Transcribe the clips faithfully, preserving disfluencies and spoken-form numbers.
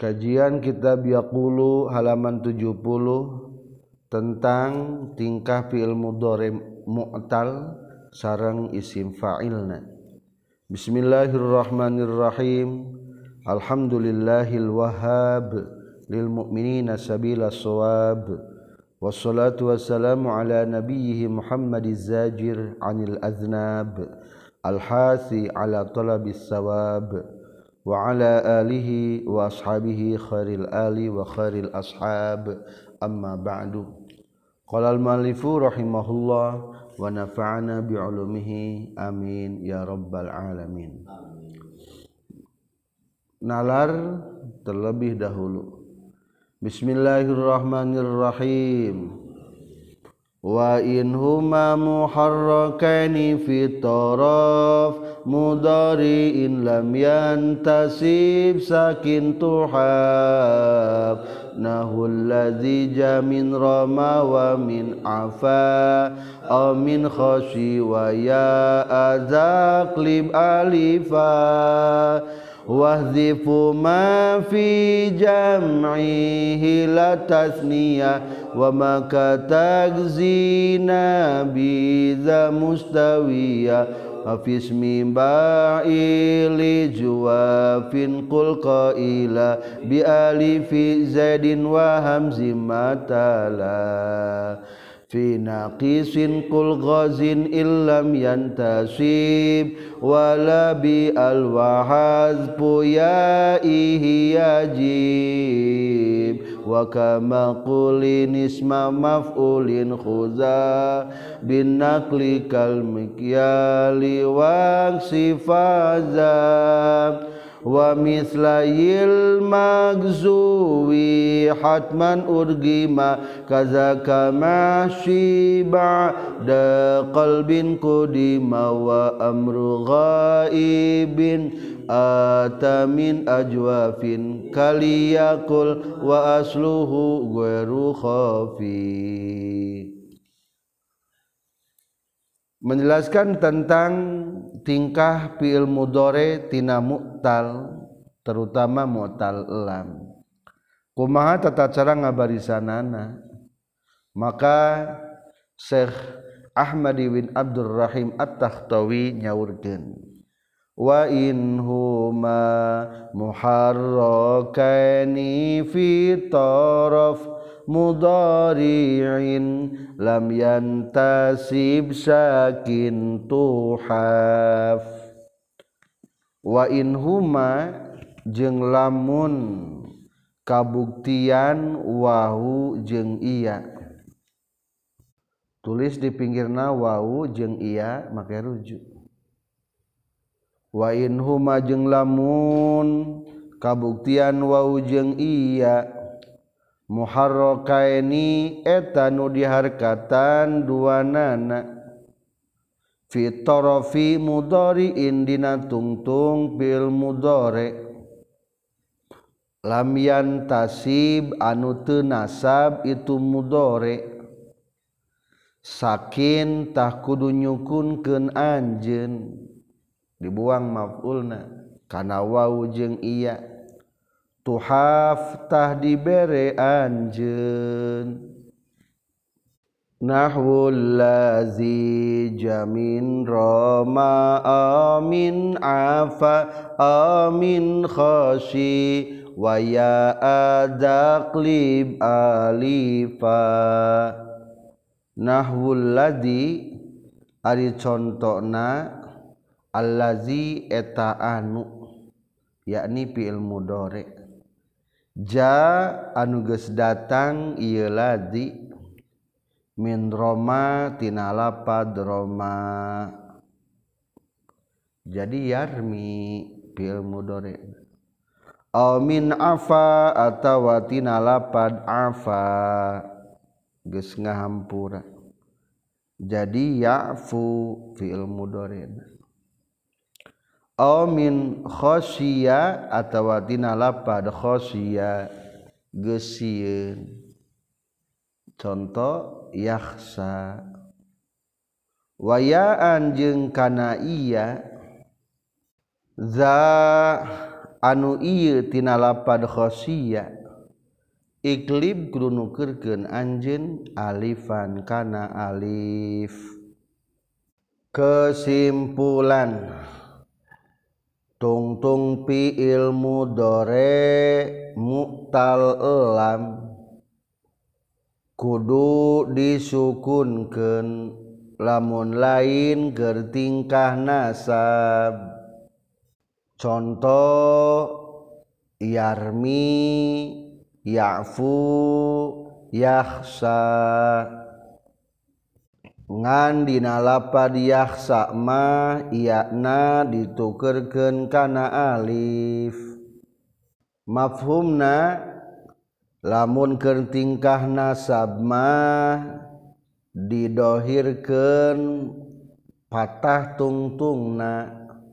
Kajian kitab Yaqulu halaman tujuh puluh tentang tingkah fi'il mudhari mu'tal sareng isim fa'ilna. Bismillahirrahmanirrahim. Alhamdulillahil wahhab lil mu'minina sabila shawab. Wassalatu wassalamu ala nabiyhi Muhammadiz zajir 'anil aznab al-hasi ala talabis sawab. Wa ala alihi wa ashabihi khairil ali wa khairil ashab amma ba'du. Qala al-muallifu rahimahullah wa nafa'ana bi'ulumihi amin ya rabbal alamin. Nalar terlebih dahulu. Bismillahirrahmanirrahim. Wa in huma muharrakani fi taraf mudhari'in lam yantasib sakin tuhab nahul ladzi jamin rama wa min afa aw min khashi wa ya azaklib alifa wahzifu ma fi jam'ihi la tasniyah wa ma katagzina biza mustawiya afismi ba'ili juwafin qul qaila bi alifi zaidin wa hamzi matala fi naqisin qul ghazin illam yantasib wala bi alwahazbu ya'ihi yajib wa kama qulin isma maf'ulin khuza bin naqli kal mikyali wa sifaza wa mislayil magzuwi hatman urgima kazaka mashi ba'da qalbin qudima wa amru ghaibin atamin ajwafin kaliyakul wa asluhu ghairu khafi. Menjelaskan tentang tingkah fi'il mudhari tina mu'tal, terutama mu'tal lam. Kumaha tata cara ngabarisanana? Maka Syekh Ahmad bin Abdul Rahim At-Takhtawi nyaurkeun, wa in huma muharrakani fi taraf mudhari'in lam yantasib sakin tuhaf. Wa in huma jeung lamun kabuktian wahu jeung iya, tulis di pinggirna wahu jeung iya make rujuk. Wa in huma jeung lamun kabuktian wahu jeung iya muharrakaini eta nu diharkatan duanana fi tarafi mudhari'in dina tungtung bil mudhari lam yantasib anu teu nasab itu mudhari sakin tah kudu nyukunkeun anjeun dibuang maf'ulna kana waw jeung iya tuhaf tah dibere anjeun. Nahwul lazi jamin rama amin afa amin khashi wa ya adaqlib alifa. Nahwul ladzi ari contona allazi eta anu yakni fi'il mudhari ja anu geus datang ieu ladzi min roma tina lapad roma, jadi yarmi fi'il mudhari aw min afa atawa tina lapad afa geus ngahampura jadi ya'fu fi'il mudhari aw min khasyiya atawa tina lapad khasyiya geus sieun contoh yakhsa wayaan jeung kana iya za anu ieu tina lapad khosiyah iklib kudu nukeurkeun anjeun alifan kana alif. Kesimpulan tungtung fiil mudhari mu'tal lam kudu disukunkeun lamun lain keur tingkah nasab. Contoh yarmi, ya'fu, yakhsa. Ngan dina lapad yakhsa mah iyana ditukeurkeun kana alif. Mafhumna lamun keur tingkah nasab mah didohirkeun patah tungtungna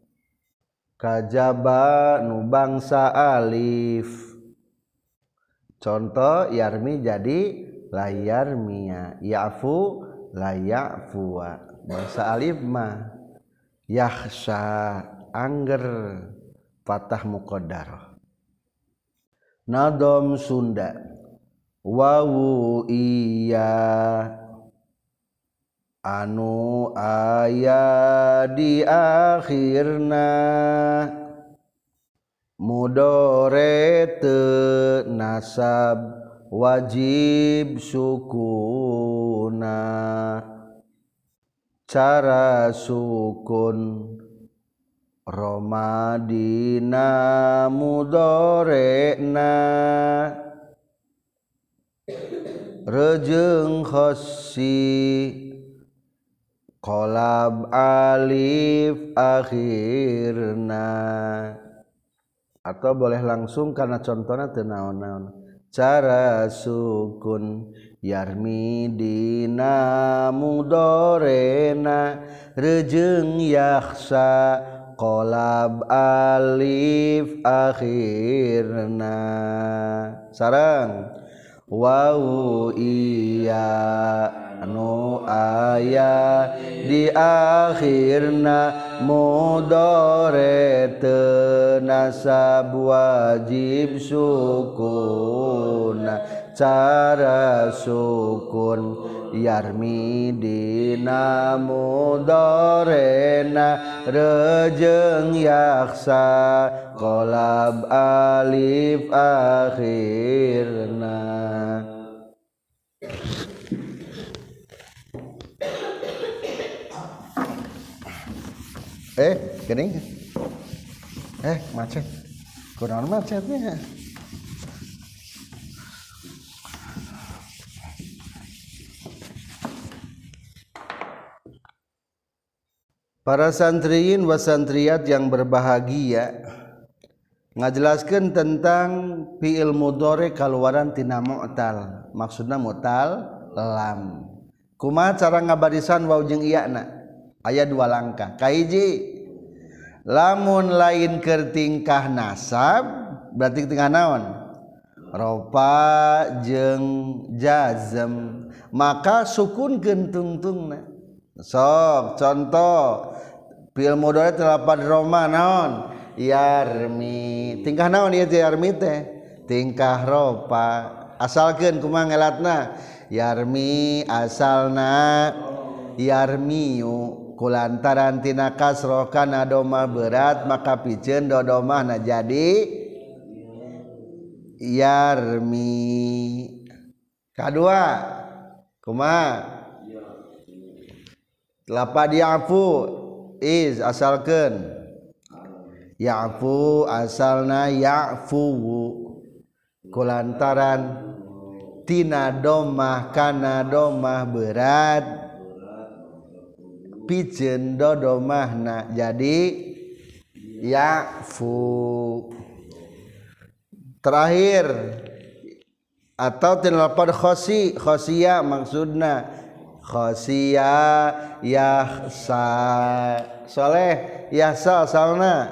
kajaba nu bangsa alif. Contoh yarmi jadi la yarmiya, ya'fu la ya'fuwa. Bangsa alif mah yakhsha angger patah muqaddar. Nadom Sunda wawu iya anu aya di akhirna mudhari teu nasab wajib sukuna. Cara sukun romadina mudhari'na rejeung khossi qalab alif akhirna. Atau boleh langsung karena contohnya teu naon-naon. Cara sukun yarmi dina mudhari'na rejeung yakhsa qalab alif akhirna. Sareng wawu iya anu aya di akhirna mudhari teu nasab wajib sukuna. Cara sukun yarmi dina mudhari'na rejeung yakhsa qalab alif akhirna. Eh geuning eh macet kurang macetnya. Para santriyin wa santriyat yang berbahagia ngajelaskeun tentang fi'il mudhari kaluaran tina mu'tal. Maksudna mu'tal lam. Kumaha cara ngabarisan waw jeung iyana? Aya dua langkah. Kahiji lamun lain keur tingkah nasab berarti tingkah naon? Rofa jeung jazm. Maka sukunkeun tungtungna. Sok contoh fi'il mudhari lapad roma naon? Yarmi. Tingkah naon ieu teh yarmi teh? Tingkah rofa. Asalkeun kumaha ngelatna? Yarmi asalna yarmiyu kulantaran tina kasroh kana domah berat maka piceun dodomahna jadi yarmi. Kadua kumaha? Lapad ya'fu is asalkeun ya'fu asalna ya'fu kulantaran tina domah kana domah berat piceun dodomahna jadi ya'fu. Terakhir atau tina lapad khosi khosiyah maksudna khosiyah yakhsa. Soleh yakhsa asalna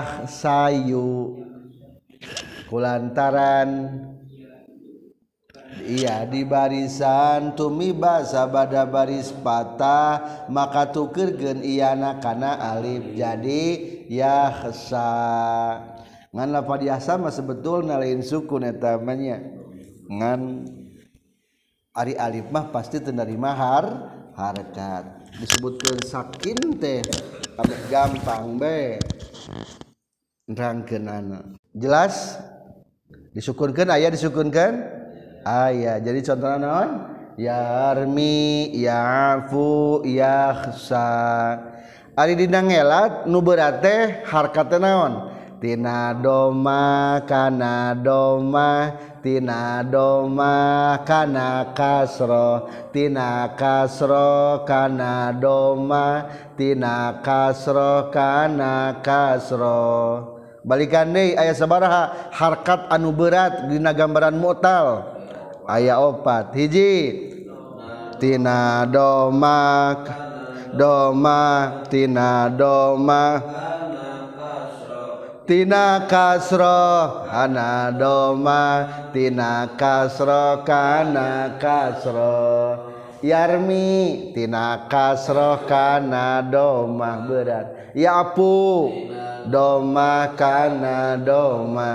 yakhsayu kulantaran iya di barisan tumiba sabada baris patah maka tukeurkeun iyana kana alif jadi yahsa ngan lafaz yahsa mah sebetulna lain sukun eta mah nya ngan ari alif mah pasti teu narima har harakat disebutkeun sakin teh gampang be nerangkeunana jelas disukunkeun aya disukunkeun aya jadi contohna naon yarmi yafu yakhsa ari dina ngelat nu berat teh harkat naon tina doma kana doma tina doma kana kasro tina kasro kana doma tina kasro kana kasro balikan deui aya sabaraha harkat anu berat dina gambaran mu'tal aya opat hiji tina doma doma tina doma tina kasro kana doma tina kasro kana kasro yarmi tina kasro kana doma berat yapu doma kana doma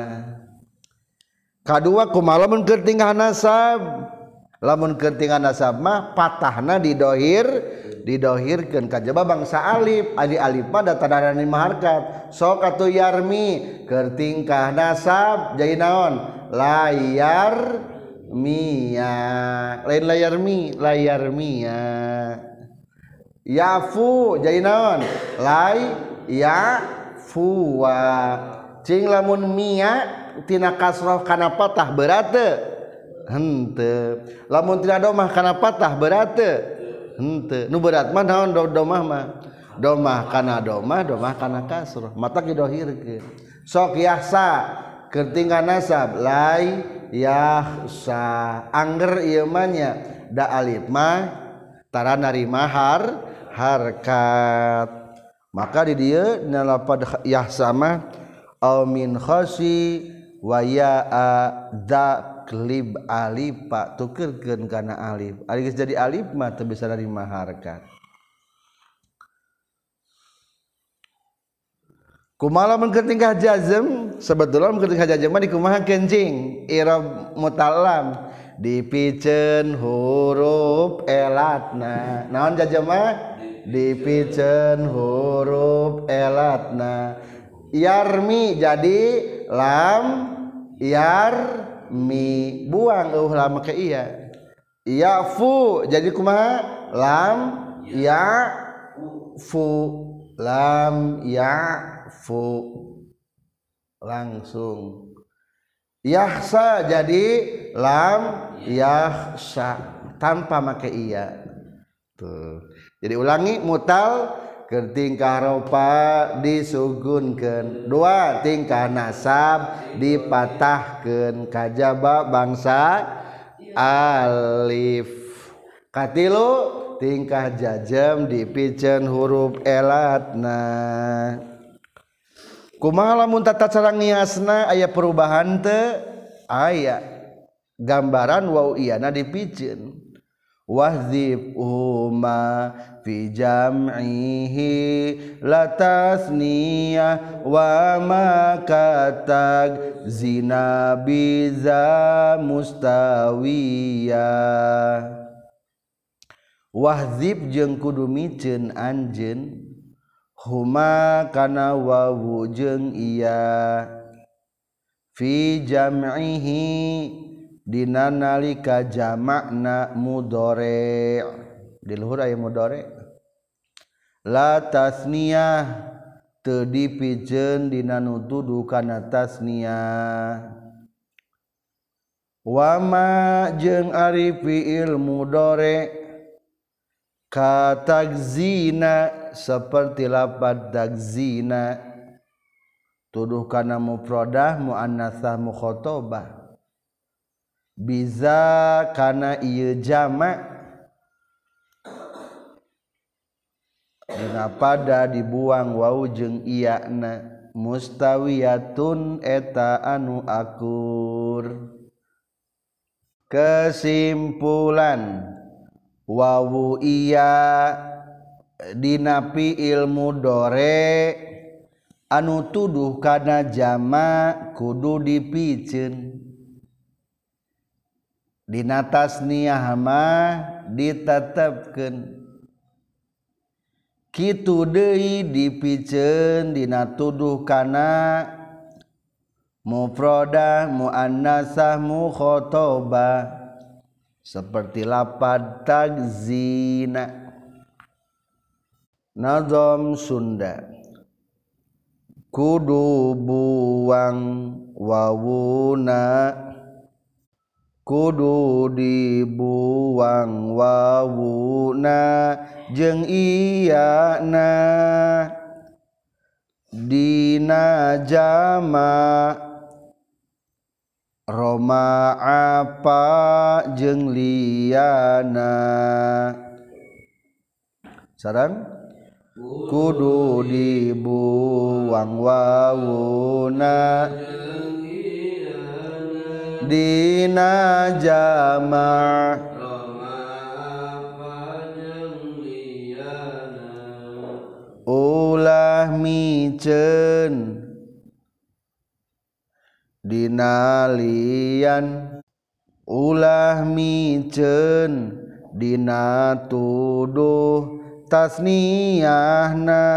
kadua kumaha lamun keur tingkah nasab lamun keur tingkah nasab mah patahna didohir didohirkeun kajaba bangsa alif ali alif pada tanda lima harkat sok atuh yarmi keur tingkah nasab jadi naon layar mia lain layar mi layar mia yafu jadi naon lay ya fuwa cing lamun mia tina kasroh kana patah berat teu henteu lamun tina domah kana patah berat teu henteu nu berat mah naon domah mah domah kana domah domah kana kasroh mata didohirkeun sok yahsa keur tingkah nasab lai yahsa angger ieu mah nya da alif mah tara narima har harkat maka di dieu na lafaz yahsa mah au min khasi wa ya da klib alif pak tukeurkeun kana alif ari geus jadi alif mah teu bisa narima harkat kumaha mun keur tingkah jazm sebetulna mun keur tingkah jazm mah dikumaha kencing i'rab mutalam dipikeun huruf elatna naon jazm mah dipikeun huruf elatna yarmi jadi lam yarmi buang eueuh lam ke iya yafu jadi kumaha lam ya fu lam ya fu langsung yahsa jadi lam yahsa tanpa make iya tuh jadi ulangi mutal keur tingkah ropa disugunkeun dua tingkah nasab dipatahkeun kajaba bangsa alif katilu tingkah jazm dipikeun huruf elatna kumaha lamun tata cara ngiasna aya perubahan teu aya gambaran waw iyana dipikeun wahdzib huma fi jam'ihi la tasniyah wa ma katag zina biza mustawiyah wahdzib jeung kudu miceun anjeun huma kana wawu jeung iya fi jam'ihi dina nalika jamakna mudhari di luhur aya mudhari la tasniyah teu dipikeun dina nu dudu kana tasniyah wa ma jeung ari fiil mudhari ka tagzina seperti lafaz tagzina tuduh kana mufradah muannasah mukhatabah biza kana ieu jamak dina pada dibuang waw jeung iyana mustawiyatun eta anu akur Kesimpulan wawu iya dinapi ilmu dore anu tuduh kana jamak kudu dipikeun dina tasniyah mah ditetepkeun kitu deui dipikeun dina tuduh kana mufradah muannasah mukhatabah seperti lapad tagzina. Nazam Sunda kudu buang wawuna kudu dibuang wawuna jeung iyana dina jamak Roma apa jeung liyana sareng kudu dibuang wawuna dina jamak ulah miceun dina lian ulah miceun dina tuduh tasniyahna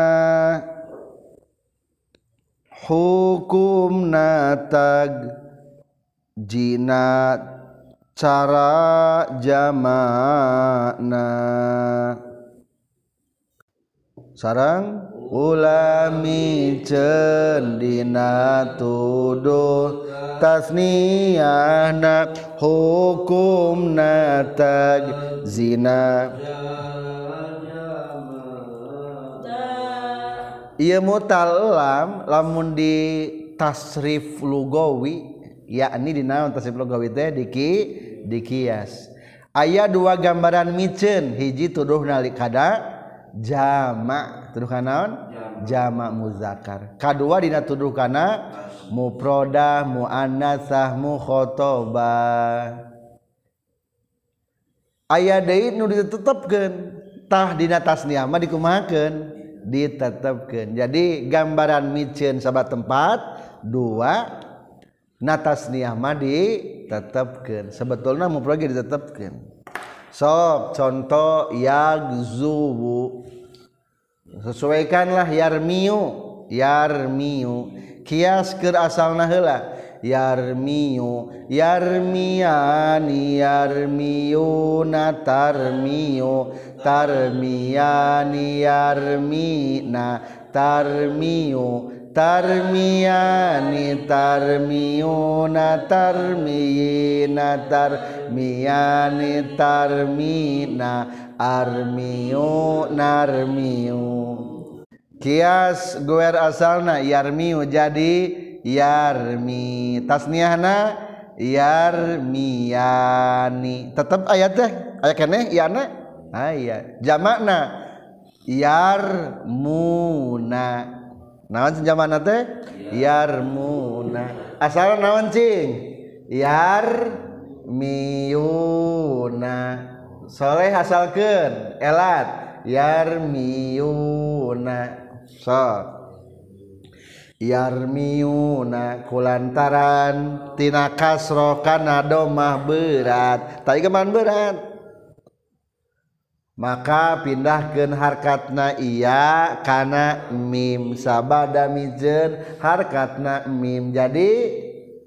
hukumna tag jina cara jamakna sareng ulah miceun dina tuduh tasniyahna hukumna tag zina ieu mutalam lamun di tasrif lugawi yakni dina tasrif lugawi teh diki dikias aya dua gambaran miceun hiji tuduh nalik kada jamak tuduh kana naon jamak muzakkar kadua dina tuduh kana mufradah muannasah mukhatabah aya deui nu ditetepkeun tah dina tasniyah mah dikumahakeun ditetepkeun jadi gambaran miceun sabat tempat dua na tasniyah mah ditetepkeun sebetulna mufrad ditetepkeun sok contoh yagzuwu sesuaikanlah yarmiu yarmiu kias keur asalna heula yarmiu yarmiyani yarmiuna tarmiu tarmiyani yarmina tarmiu tarmiyani tarmiuna tarmiyina tarmiyani tarmina armiu narmiu kias goer asalna yarmiu jadi yarmi tasniyahna yarmiyani tetep aya teh aya keneh iana aya jamakna yarmuna naon jamakna teh yarmuna asalna naon cing yarmiyuna soleh asalkeun elat yarmiyuna sok yarmiyuna kulantaran tina kasro kana domah berat tadi keman berat maka pindahkeun harkatna iya kana mim sabada mijeun harkatna mim jadi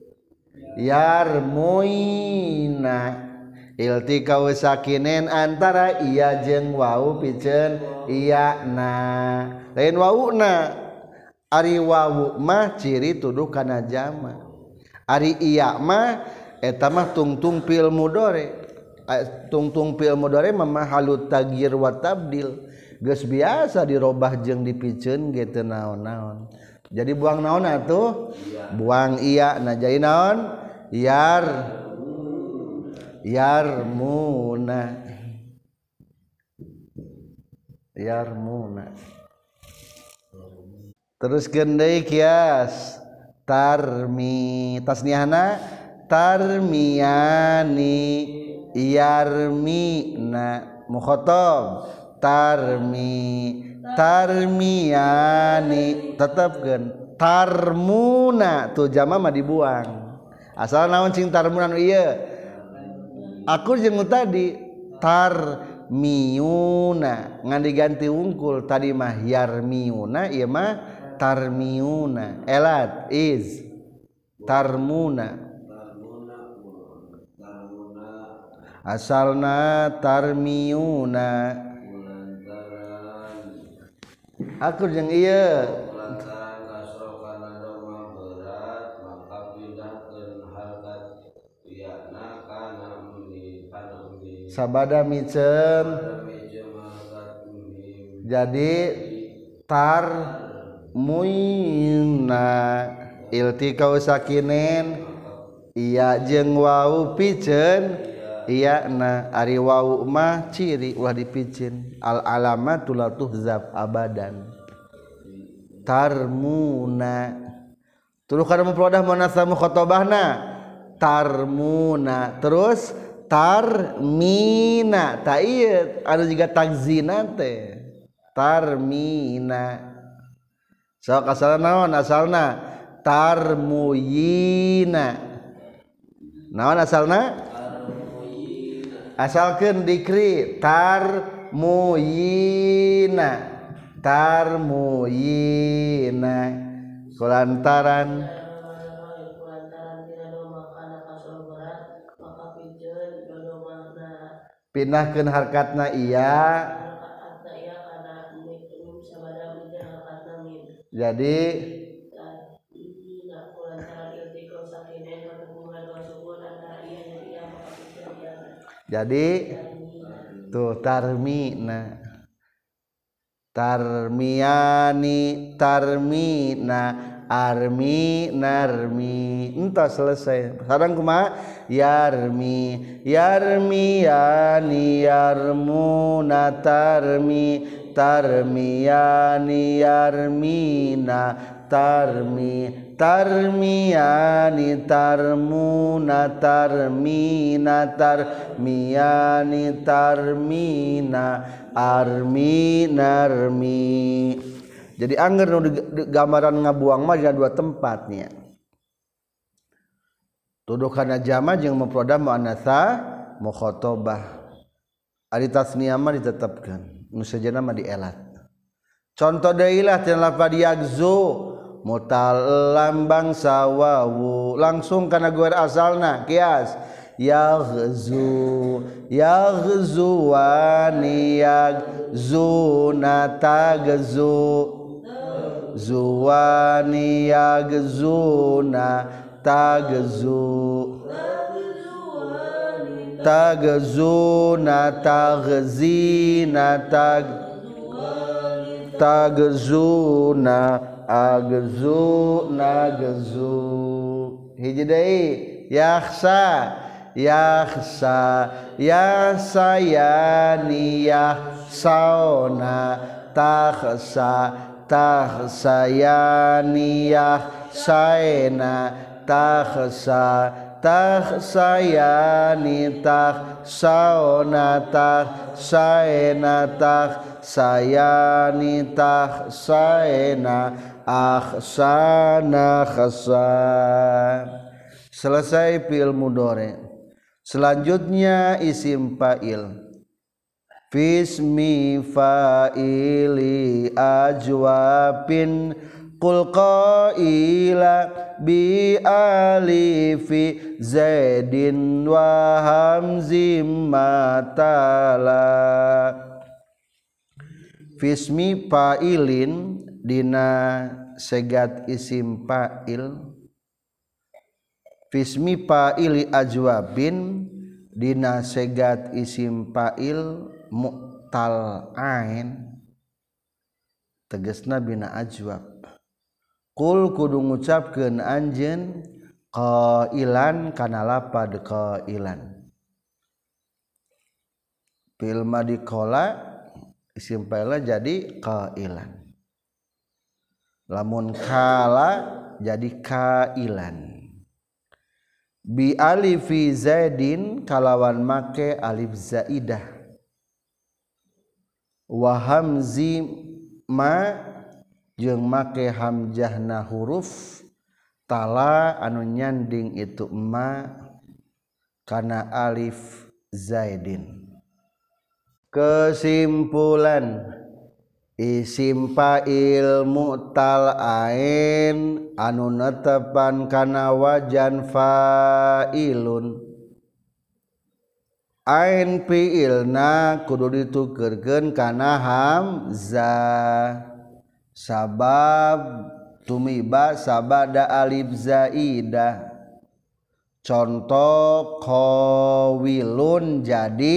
yarmuina iltikau sakinen antara iya jeung wau piceun iya na lain wauna ari wawu mah ciri tuduh kana jama ari iya mah eta mah tungtung fil mudhari tungtung fil mudhari mah halut taghyir wa tabdil geus biasa dirobah jeung dipikeun ge teu naon-naon jadi buang naon atuh buang iya na jadi naon yar yarmuna yarmuna terus gendai kias tarmi tasniyahna tarmiyani yarmina mukhatab tarmi tarmiyani tetepkeun tarmuna tuh jama mah dibuang asal naon cing tarmuna nu ieu aku jeung tadi tarmiyuna ngan diganti wungkul tadi mah yarmiyuna ieu mah tarmiyuna elat is tarmuna asalna tarmiyuna aku jeung ieu sabada micem jadi tar muina iltikau sakinen iya jeung wau piceun iya na ari wau mah ciri ulah dipicin al alamatul la tuhzab abadan tarmuna tuluy kana mufradah muannats mukhatabahna tarmuna terus tarmina ta ieu anu jiga tagzina teh tarmina sok asalna naon asalna tarmuyina naon asalna asalkeun dikri tarmuyina tarmuyina kulantaran pindahkeun harkatna iya jadi jadi tuh tarmina tarmiyani tarmina armi narmi entos selesai sareng kumaha yarmi yarmiyani yarmuna tarmi tarmiyani yarmina tarmi tarmiyani tarmuna tarmina tarmiyani tarmina armi narmi jadi angger nu gambaran ngabuang mah dua tempatnya tuduh kana jama jeung mufradah muannatsa mukhatabah ari tasniyah mah ditetepkeun nu sejenna mah dielat contoh deui lah tina lafaz yagzu mutal lambang sawawu langsung kana guer asalna kias yaghzu yaghzuwani yaghzuna tagzu zuwani yagzuna tagzu tagzuna tagzina tag tagzuna agzu nagzu hiji deui yakhsa yakhsa yasayani yahsauna takhsa takhsayani yahsaina takhsa takhsayani takhsauna takhsaina takhsayani takhsaina akhsana khasa selesai fi'il mudhari selanjutnya isim fa'il fismi fa'ili ajwabin qul qaila bi alifi zaidin wa hamzim matala fismi fa'ilin dina segat isim fa'il fismi fa'ili ajwabin dina segat isim fa'il mu'tal ain tegasna bina ajwab qul kudu ngucapkeun anjeun qailan kana lapad qailan fil madi qala isim fa'il jadi qailan lamun kala jadi kailan bi alifi zaidin kalawan make alif zaidah wa hamzi ma jeung make hamzahna huruf tala anu nyanding itu ma kana alif zaidin. Kesimpulan isim fa'il mu'tal ain anu netepan kana wajan fa'ilun ain fi'ilna kudu ditukeurkeun kana hamzah sabab tumiba sabada alif zaidah. Contoh qawilun jadi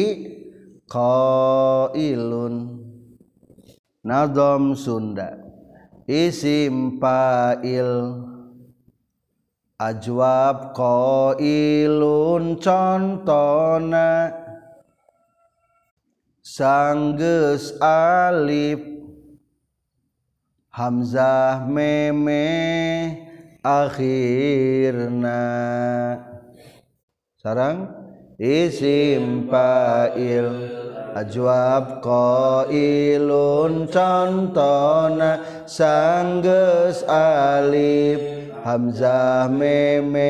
qailun. Nazam Sunda isim fa'il ajwab qailun contona sanggeus alif hamzah meme akhirna. Sarang isim fa'il ajwab qailun contona sanggeus alif hamzah meme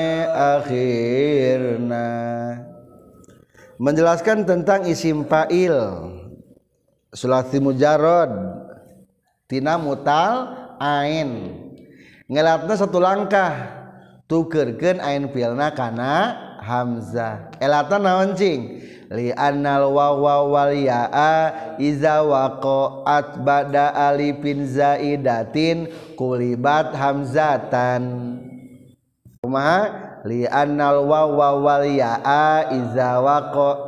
akhirna. Menjelaskan tentang isim fa'il sulasi mujarrad tina mutal ain ngelatna satu langkah tukeurkeun ain fi'ilna kana hamzah. Elatan naon cing li annal wawa wal ya'a iza waqa'at ba'da alifin zaidatin kulibat hamzatan. Kumaha li annal wawa wal ya'a iza waqa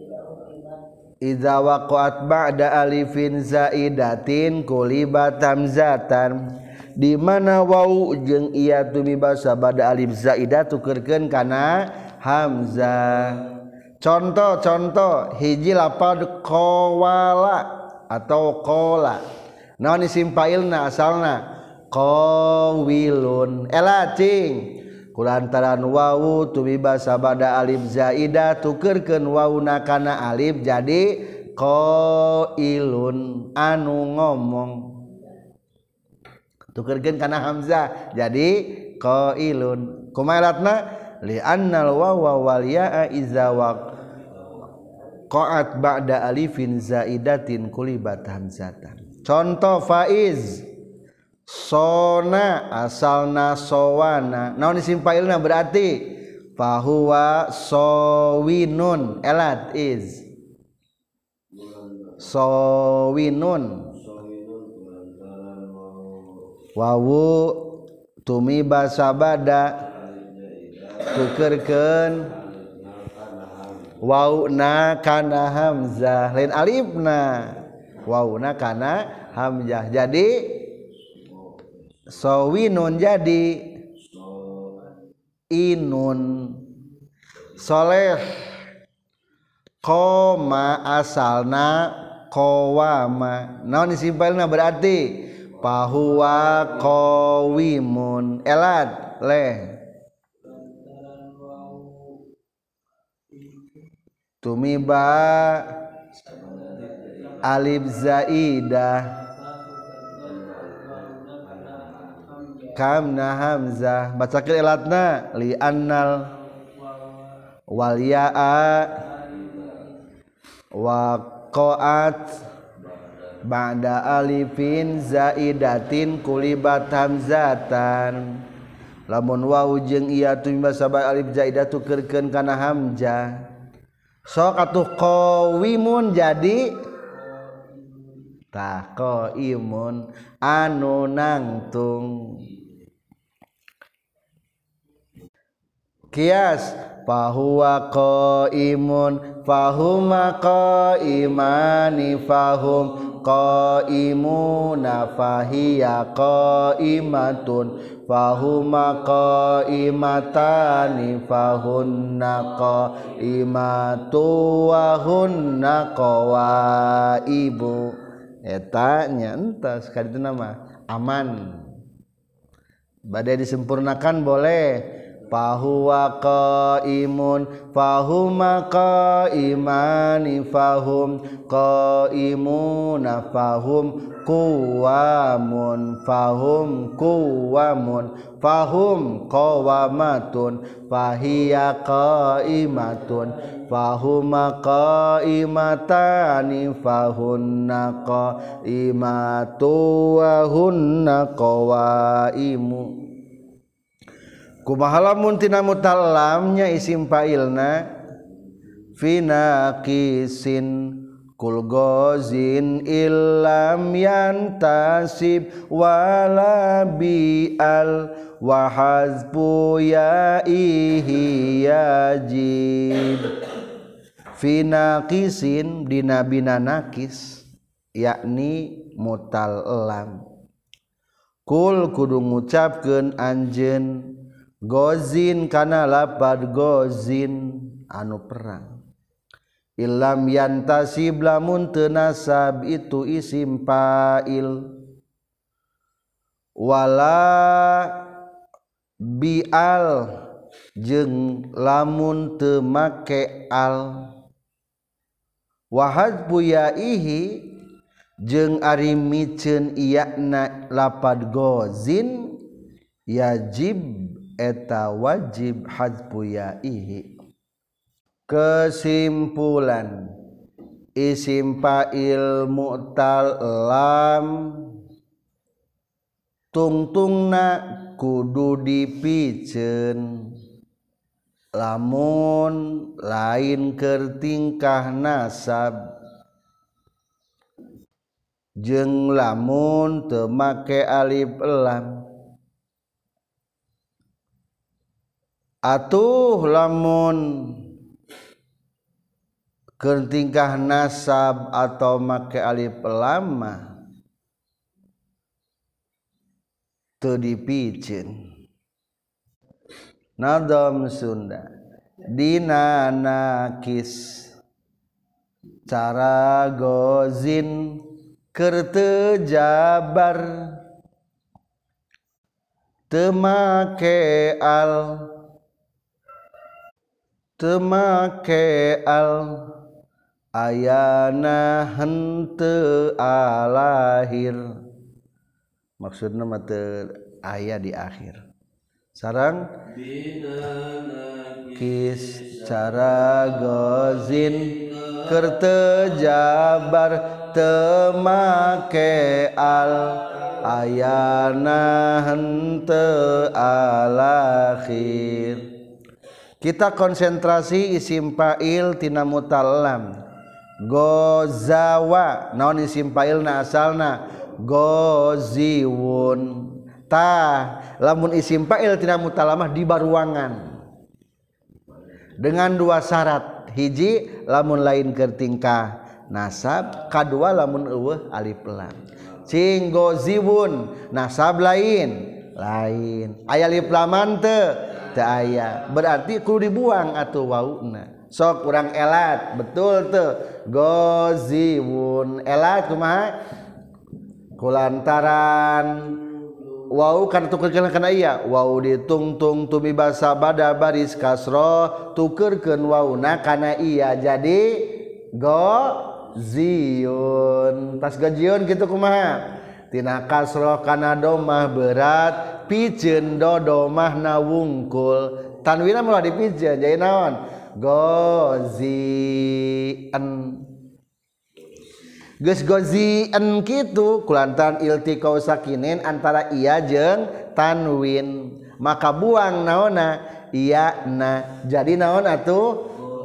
iza waqa'at ba'da alifin zaidatin kulibat hamzatan. Di mana waw jeung iya tumiba sabada alif zaidah tukeurkeun kana hamzah. Contoh-contoh hiji lapad qawala atau qala. Naon isim fa'ilna asalna qawilun. Ela cing kulantaran wawu tumiba sabada alif zaidah tukeurkeun wawuna kana alif jadi qailun anu ngomong. Tukeurkeun kana hamzah jadi qailun. Kumaha elatna li annal wawa wal ya'a iza waqa'at ba'da alifin zaidatin kulibat hamzatan. Contoh faiz sona asalna sowana. Naon isim fa'ilna berarti fahuwa sawinun. Elat is sawinun wawu tumiba sabada tukeurkeun wauna kana hamzah lain alifna wauna kana hamzah jadi sawinun jadi inun. Soleh koma asalna qawama. Naon isim fa'ilna berarti fahuwa qawimun. Elat leh tumiba alif zaidah kamna hamzah. Bacakeun elatna li annal wal ya'a waqa'at ba'da alifin zaidatin kulibat hamzatan. Lamun wawu jeung ieu tumiba sabada alif zaidah tukeurkeun kana hamzah. Sok atuh qawimun jadi tah qaimun anu nangtung. Kias fahuwa qaimun fahuma qaimani fahum qaimuna fahiya qaimatun fahuma qaimatani fahunna qaimatu wa hunna qawaibu. Eta nya entas kaditu nama aman. Badai disempurnakan boleh fahuwa qaimun fahuma qaimani fahum qaimuna fahum quwamun fahum quwamun fahum qawamatun fahiya qaimatun fahuma qaimatani fahunna qaimatu wa hunna qawaimu. Kumaha lamun tina mutalamnya isim fa'ilna fina qisin kul gozin illam yantasib wala bi'al wa hazbu ya'ihi yajib. Fina qisin dina bina nakis yakni mutal lam kul kudu ngucapkeun anjeun gozin kana lapad gozin anu perang illam yantasib lamun teu nasab itu isim fa'il wala bi'al jeung lamun teu make al wa hadbu ya'ihi jeung ari miceun iyana lapad gozin yajib eta wajib hadfu ya'ihi. Kesimpulan isim fa'il mu'tal lam tungtungna kudu dipiceun lamun lain keur tingkah nasab jeung lamun teu make alif lam. Atuh lamun keur tingkah nasab atau make alif lam teu dipiceun. Nadam Sunda dina nakis cara gozin keur teu jabar teu make al teu make al ayana henteu alahir maksudna mah teu aya di akhir sareng kis cara gozin keur teu jabar teu make al ayana henteu alakhir. Kita konsentrasi isim fa'il tina mutallam gozawa naon isim fa'ilna asalna goziwun tah lamun isim fa'il tina mutalamah di baruangan dengan dua syarat hiji lamun lain keur tingkah nasab kadua lamun eueuh alif lam cing goziwun nasab lain lain aya alif laman teu teu aya berarti kudu dibuang atuh wauna sok urang elat betul teu goziwun elat kumaha kulantaran wau kana tukeurkeun kana iya wau ditungtung tumi basa bada baris kasro tukeurkeun wauna kana iya jadi goziyun pas goziyun kitu kumaha tina kasro kana domah berat piceun do domahna wungkul tanwinna meulah dipiceun jadi naon gozien geus gozien kitu kulantaran iltiqau sakinin antara iya jeung tanwin maka buang naonna iya na jadi naon atuh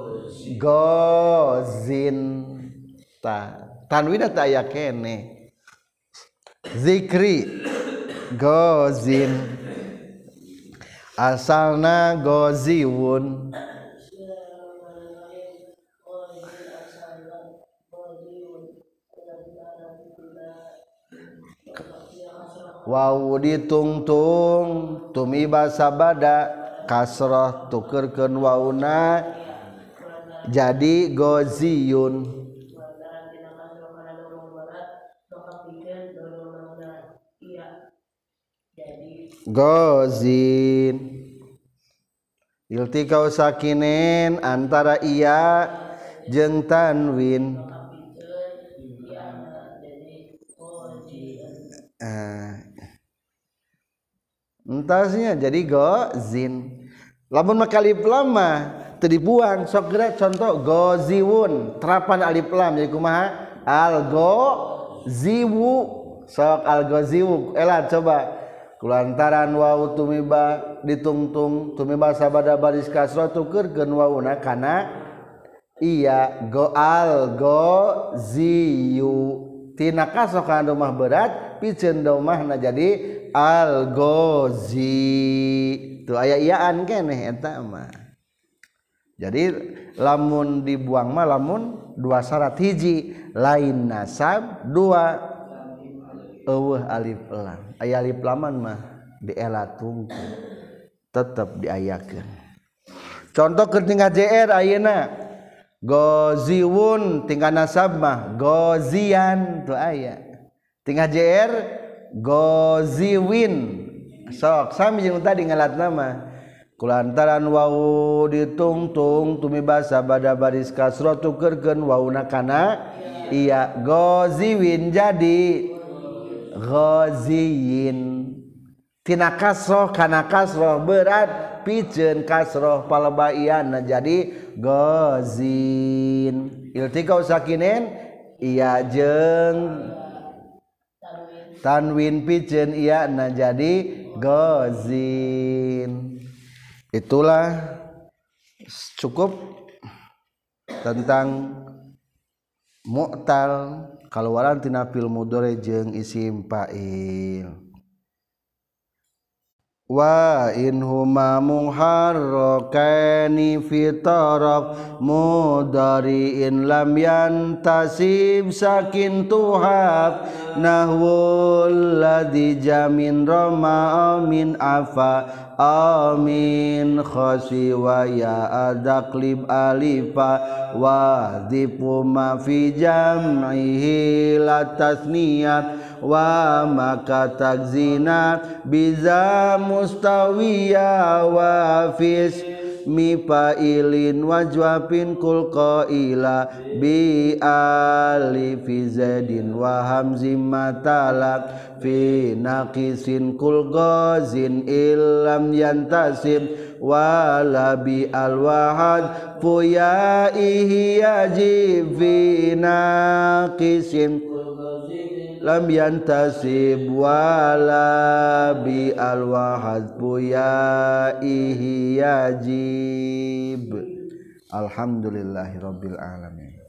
gozin ta tanwinna teu aya keneh zikri gozin asalna goziwun wawu ditungtung tumi basa bada kasroh tukeurkeun wauna jadi goziyun gozin iltikau sakinin antara iya jeung tanwin. Uh, entasnya jadi gozin. Lamun make alif lam mah teu dibuang, sok geura contoh goziwun, terapan alif lam jadi kumaha? Al goziwu, sok al goziwu. Elah coba kulantaran wawu tumiba ditungtung tumiba sabada baris kasrah tukeurkeun wawuna kana iya go al goziyu. Tina kasrah kana domah berat piceun domahna jadi al gozi. Tuh aya iyaan keneh eta mah. Jadi lamun dibuang mah lamun dua syarat, hiji lain nasab, dua eueuh alif lam. Aya alif laman mah dielatungkeun tetep diayakeun. Contoh keur tinggal J R ayeuna goziwun tinggal nasab mah gozian tuh aya. Tinggal J R goziwin sok sami jeung tadi ngalat nama kulantaran wawu ditungtung tumiba sabada baris kasrah tukeurkeun wawuna kana iya goziwin jadi goziyin. Tina kasrah kana kasrah berat piceun kasrah palebaianna jadi gozin. Iltikau sakinin iya jeung tanwin piceun iya na jadi gozin. Itulah cukup tentang mu'tal kaluaran tina fi'il mudhari jeung isim fa'il. Wa in huma muharrakani fi taraf mudhari'in lam yantasib sakin tuhab nahwul ladzi jamin rama min afa amin khasi wa ya adaklib alifa wa dhifu ma fi jam'ihi la tasniyat wa maka takzina biza mustawiya wa fis mi fa'ilin wajwabin kul qaila bi alifi zaidin wa hamzim matalak fi naqisin kul ghazin illam yantasib wala bi alwahad fuya ihyajib fi naqisin lam yantasib wala bi alwahad puya ihyajib. Alhamdulillahirabbil alamin.